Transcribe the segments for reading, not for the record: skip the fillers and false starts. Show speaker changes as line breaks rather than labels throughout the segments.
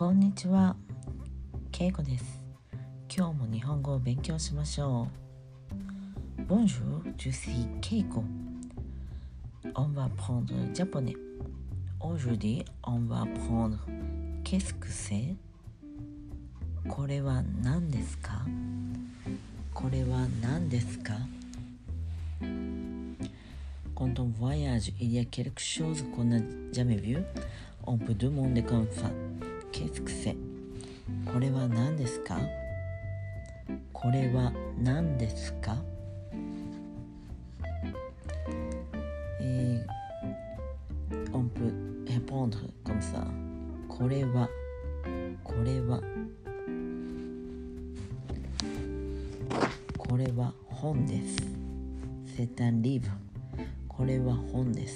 こんにちは、けいこです。今日も日本語を勉強しましょう。Bonjour, je suis Keiko. On va apprendre le japonais. Aujourd'hui, on va apprendre qu'est-ce que c'est? これは何ですか？これは何ですか？ Quand on voyage, il y a quelque chose qu'on n'a jamais vu. On peut demander comme ça. Qu'est-ce que c'est? これは何ですか？これは何ですか？On peut répondre comme ça. これはこれはこれは本です。C'est un livre. これは本です。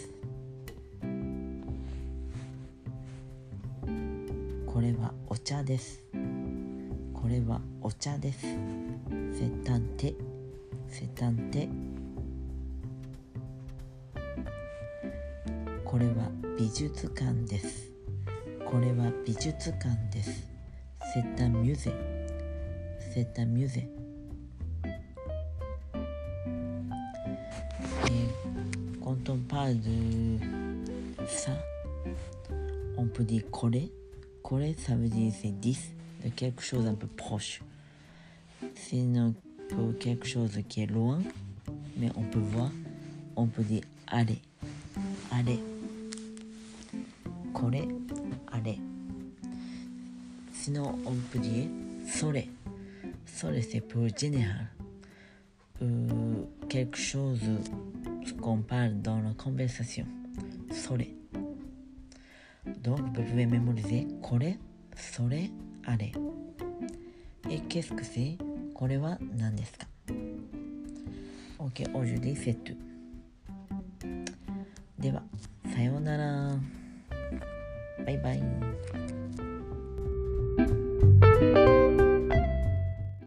これはお茶です。これはお茶です。C'est un thé. C'est un thé. これは美術館です。これは美術館です。C'est un musée. C'est un musée. Quand on parle de ça, on peut dire これ。これ, ça veut dire c'est 10 de quelque chose un peu proche. Sinon, pour quelque chose qui est loin, mais on peut voir, on peut dire あれ。あれ。これ、あれ。Sinon, on peut dire それ。それ, c'est pour général. Quelque chose qu'on parle dans la conversation. それ。Donc, vous pouvez mémoriser これ、それ、あれ。Et qu'est-ce que c'est? これは何ですか？ Ok, aujourd'hui c'est tout. では、さようなら。バイバイ。